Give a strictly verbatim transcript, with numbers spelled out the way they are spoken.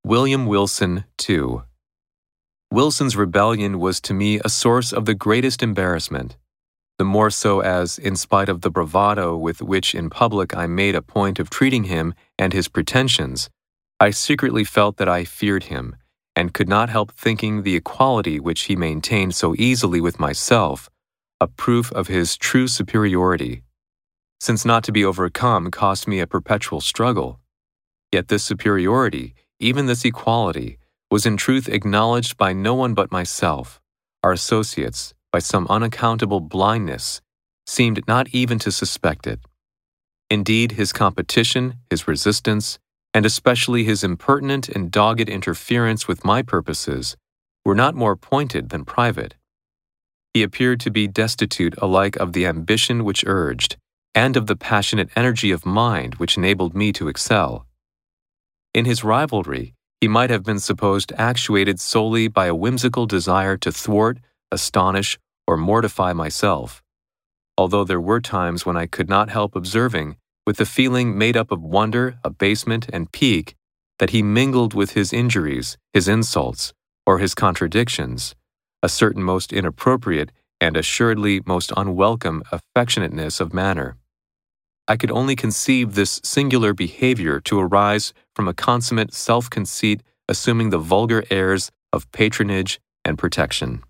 William Wilson, the second. Wilson's rebellion was to me a source of the greatest embarrassment, the more so as, in spite of the bravado with which in public I made a point of treating him and his pretensions, I secretly felt that I feared him, and could not help thinking the equality which he maintained so easily with myself a proof of his true superiority, since not to be overcome cost me a perpetual struggle. Yet this superiority, even this equality, was in truth acknowledged by no one but myself. Our associates, by some unaccountable blindness, seemed not even to suspect it. Indeed, his competition, his resistance, and especially his impertinent and dogged interference with my purposes, were not more pointed than private. He appeared to be destitute alike of the ambition which urged, and of the passionate energy of mind which enabled me to excel. In his rivalry, he might have been supposed actuated solely by a whimsical desire to thwart, astonish, or mortify myself, although there were times when I could not help observing, with a feeling made up of wonder, abasement, and pique, that he mingled with his injuries, his insults, or his contradictions, a certain most inappropriate and assuredly most unwelcome affectionateness of manner. I could only conceive this singular behavior to arise from a consummate self-conceit assuming the vulgar airs of patronage and protection.